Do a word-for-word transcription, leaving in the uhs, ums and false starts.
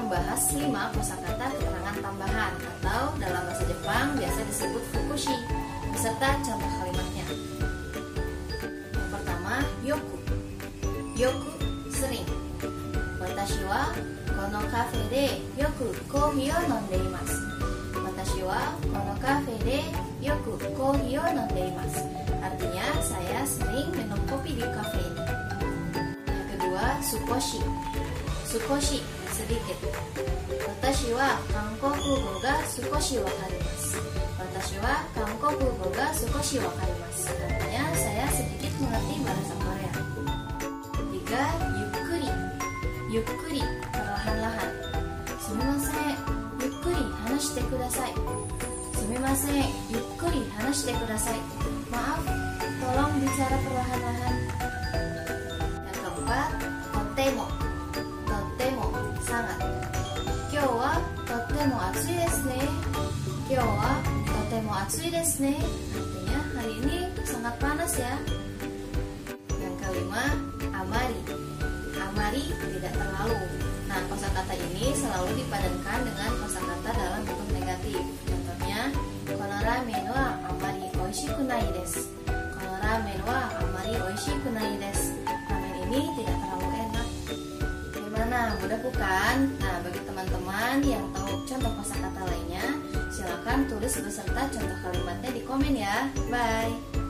akan membahas lima kosakata keterangan tambahan atau dalam bahasa Jepang biasa disebut fukushi beserta contoh kalimatnya. Yang pertama, yoku. Yoku, sering. Watashi wa kono kafe de yoku kohi o nonde imasu. Watashi wa kono kafe de yoku kohi o nonde imasu. Artinya, saya sering minum kopi di kafe ini. Yang kedua, sukoshi. Sukoshi, sedikit. Watashi wa kankokugo ga sukoshi wakarimasu. Watashi wa kankokugo ga sukoshi wakarimasu. Artinya, saya sedikit mengerti bahasa Korea. Tiga, yukkuri. Yukkuri, perlahan-lahan. Sumimasen, yukkuri hanashite kudasai. Sumimasen, yukkuri hanashite kudasai. Maaf, tolong bicara perlahan-lahan. Yang keempat, totemo. Totemo, sangat. Kyou wa totemo atsui desu ne. Kyou wa totemo atsui desu ne. Artinya, hari ini sangat panas ya. Yang kelima, amari. Amari, tidak terlalu. Nah, kosakata ini selalu dipadankan dengan kosakata dalam bentuk negatif. Contohnya, kono ramen wa amari oishiku nai desu. Kono ramen wa amari oishiku nai desu. Ramen ini tidak terlalu enak. Gimana? Mudah bukan? Nah, bagi teman-teman yang tahu contoh kosakata lainnya, silakan tulis beserta contoh kalimatnya di komen ya. Bye.